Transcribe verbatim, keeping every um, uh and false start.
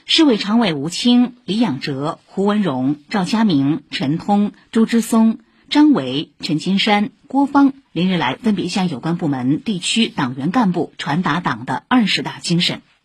市委常委吴清、李养哲、胡文荣、赵佳明、陈通、朱之松、张维、陈金山、郭芳连日来分别向有关部门、地区党员干部传达党的二十大精神。